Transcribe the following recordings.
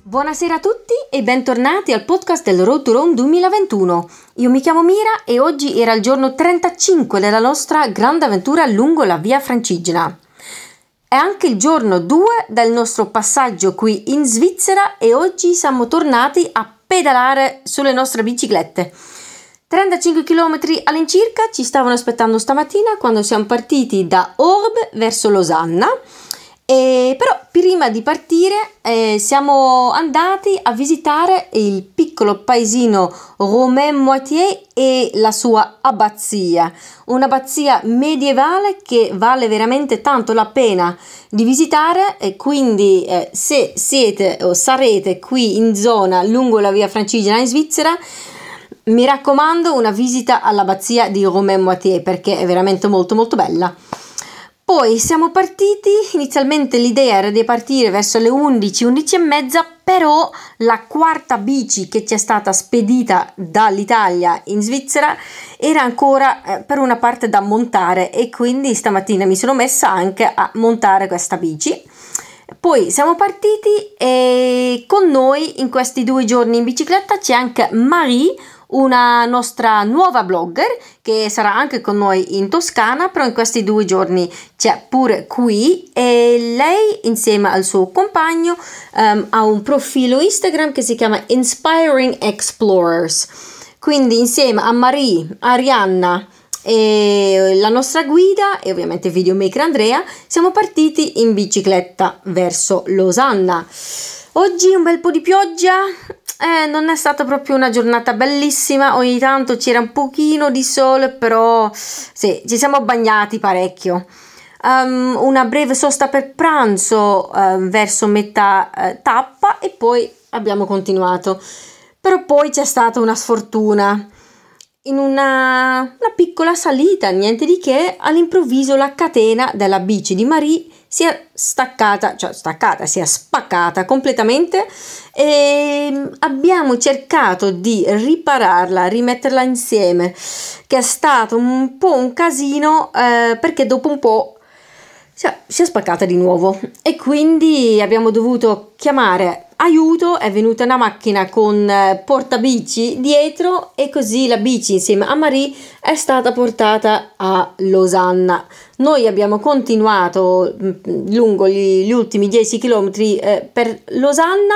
Buonasera a tutti e bentornati al podcast del Road to Rome 2021. Io mi chiamo Mira e oggi era il giorno 35 della nostra grande avventura lungo la Via Francigena. È anche il giorno 2 del nostro passaggio qui in Svizzera e oggi siamo tornati a pedalare sulle nostre biciclette. 35 km all'incirca ci stavano aspettando stamattina quando siamo partiti da Orbe verso Losanna. Però prima di partire siamo andati a visitare il piccolo paesino Romain-Moitié e la sua abbazia, un'abbazia medievale che vale veramente tanto la pena di visitare e quindi se siete o sarete qui in zona lungo la Via Francigena in Svizzera, mi raccomando una visita all'abbazia di Romain-Moitié perché è veramente molto molto bella. Poi siamo partiti, inizialmente l'idea era di partire verso le 11:30, però la quarta bici che ci è stata spedita dall'Italia in Svizzera era ancora per una parte da montare e quindi stamattina mi sono messa anche a montare questa bici. Poi siamo partiti e con noi in questi 2 giorni in bicicletta c'è anche Marie, una nostra nuova blogger che sarà anche con noi in Toscana, però in questi 2 giorni c'è pure qui e lei insieme al suo compagno ha un profilo Instagram che si chiama Inspiring Explorers, quindi insieme a Marie, Arianna e la nostra guida e ovviamente videomaker Andrea siamo partiti in bicicletta verso Losanna. Oggi un bel po' di pioggia, non è stata proprio una giornata bellissima, ogni tanto c'era un pochino di sole, però sì, ci siamo bagnati parecchio. Una breve sosta per pranzo verso metà tappa e poi abbiamo continuato. Però poi c'è stata una sfortuna. In una piccola salita, niente di che, all'improvviso la catena della bici di Marie si è si è spaccata completamente e abbiamo cercato di ripararla, rimetterla insieme, che è stato un po' un casino perché dopo un po' si è spaccata di nuovo e quindi abbiamo dovuto chiamare aiuto. È venuta una macchina con portabici dietro e così la bici insieme a Marie è stata portata a Losanna. Noi abbiamo continuato lungo gli ultimi 10 km per Losanna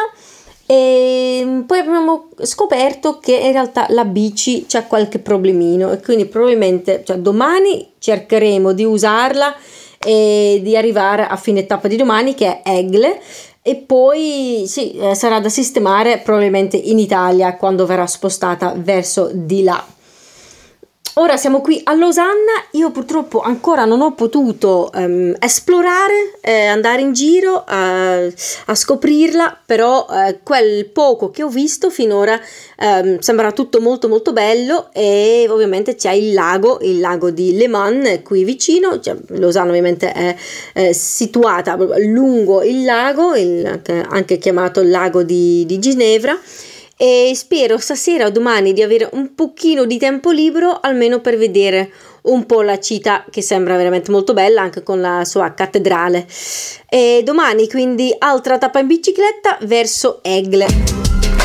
e poi abbiamo scoperto che in realtà la bici c'è qualche problemino e quindi probabilmente domani cercheremo di usarla e di arrivare a fine tappa di domani che è Egle e poi sarà da sistemare probabilmente in Italia quando verrà spostata verso di là. Ora siamo qui a Losanna, io purtroppo ancora non ho potuto esplorare, andare in giro a scoprirla, però quel poco che ho visto finora sembra tutto molto molto bello e ovviamente c'è il lago di Le Mans qui vicino, Losanna ovviamente è situata lungo il lago, anche chiamato il lago di Ginevra. E spero stasera o domani di avere un pochino di tempo libero almeno per vedere un po' la città che sembra veramente molto bella anche con la sua cattedrale e domani quindi altra tappa in bicicletta verso Egle.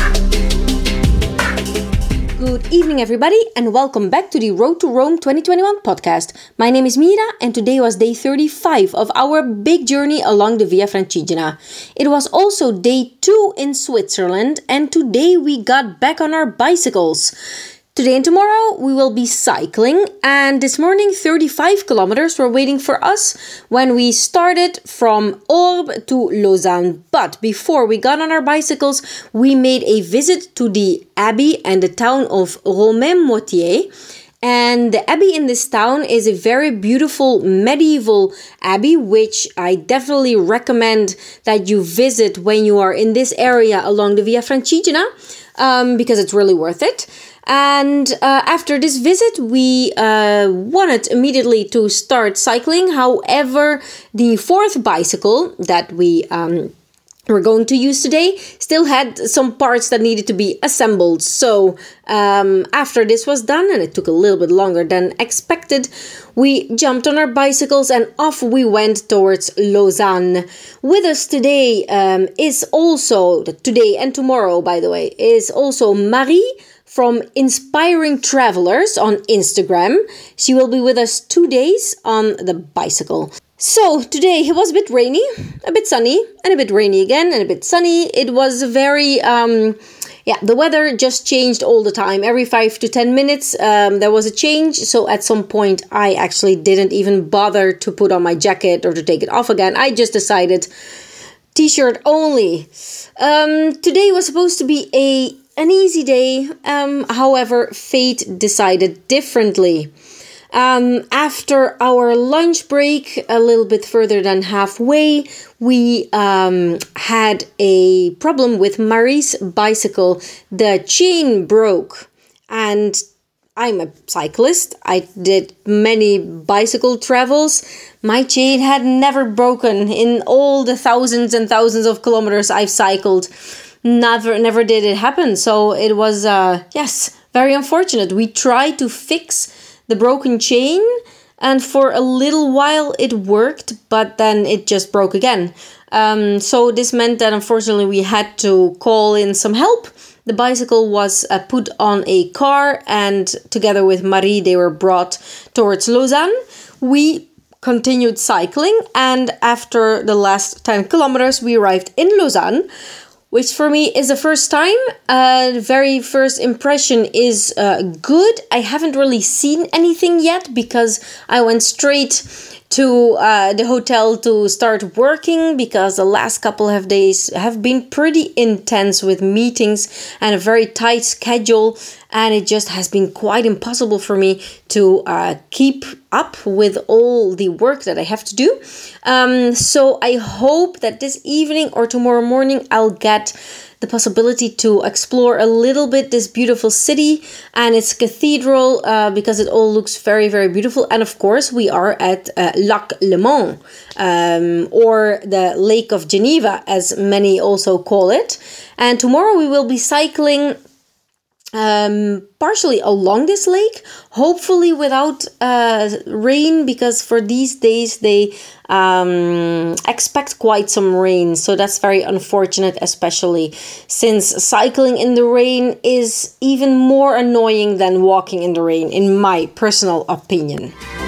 Good evening everybody and welcome back to the Road to Rome 2021 podcast. My name is Mira and today was day 35 of our big journey along the Via Francigena. It was also day 2 in Switzerland and today we got back on our bicycles. Today and tomorrow we will be cycling and this morning 35 kilometers were waiting for us when we started from Orbe to Lausanne. But before we got on our bicycles, we made a visit to the abbey and the town of Romain-Moitié. And the abbey in this town is a very beautiful medieval abbey, which I definitely recommend that you visit when you are in this area along the Via Francigena, because it's really worth it. And after this visit, we wanted immediately to start cycling. However, the fourth bicycle that we we're going to use today still had some parts that needed to be assembled. So after this was done, and it took a little bit longer than expected, we jumped on our bicycles and off we went towards Lausanne. With us today is also, today and tomorrow by the way, is also Marie from Inspiring Travelers on Instagram. She will be with us 2 days on the bicycle. So today it was a bit rainy, a bit sunny, and a bit rainy again, and a bit sunny. It was very, the weather just changed all the time. Every 5 to 10 minutes there was a change. So at some point I actually didn't even bother to put on my jacket or to take it off again. I just decided t-shirt only. Today was supposed to be an easy day. However, fate decided differently. After our lunch break, a little bit further than halfway, we had a problem with Marie's bicycle. The chain broke, and I'm a cyclist. I did many bicycle travels. My chain had never broken in all the thousands and thousands of kilometers I've cycled. Never did it happen. So it was, very unfortunate. We tried to fix the broken chain, and for a little while it worked, but then it just broke again. So this meant that unfortunately we had to call in some help. The bicycle was put on a car, and together with Marie they were brought towards Lausanne. We continued cycling, and after the last 10 kilometers we arrived in Lausanne, which for me is the first time. The very first impression is good. I haven't really seen anything yet because I went straight to the hotel to start working, because the last couple of days have been pretty intense with meetings and a very tight schedule, and it just has been quite impossible for me to keep up with all the work that I have to do. So I hope that this evening or tomorrow morning I'll get the possibility to explore a little bit this beautiful city and its cathedral, because it all looks very, very beautiful. And of course, we are at Lac Léman, or the Lake of Geneva, as many also call it. And tomorrow we will be cycling partially along this lake, hopefully without rain, because for these days they expect quite some rain. So that's very unfortunate, especially since cycling in the rain is even more annoying than walking in the rain, in my personal opinion.